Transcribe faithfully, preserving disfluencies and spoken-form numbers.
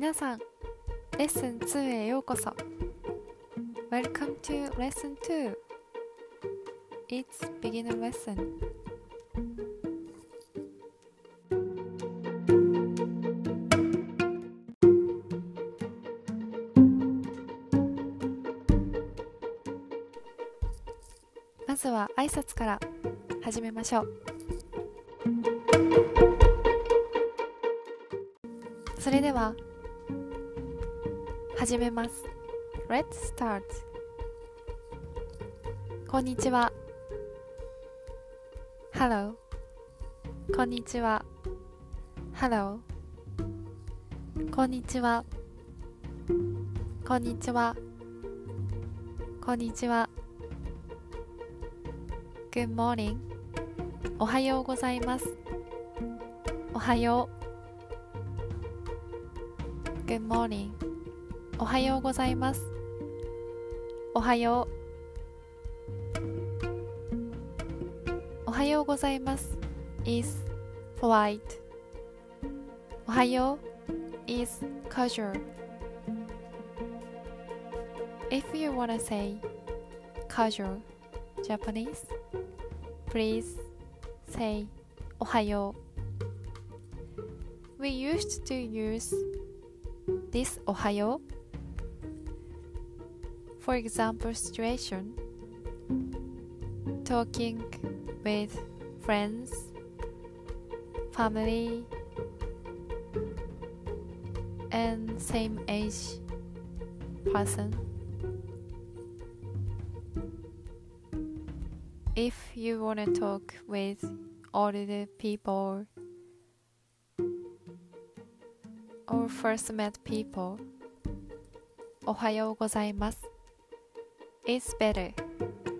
皆さん、レッスンツーへようこそ。 Welcome to Lesson ツー. It's beginner lesson. まずは挨拶から始めましょう。それでは始めます。 Let's start. こんにちは。 Hello. こんにちは。 Hello. こんにちは。こんにちは。こんにちは。 Good morning. おはようございます。おはよう。 Good morning. おはようございます。おはよう。おはようございます is polite. おはよう is casual. If you wanna say casual Japanese, please say おはよう. We used to use this おはよう for example situation, talking with friends, family, and same age person. If you want to talk with older people or first met people, おはようございます is better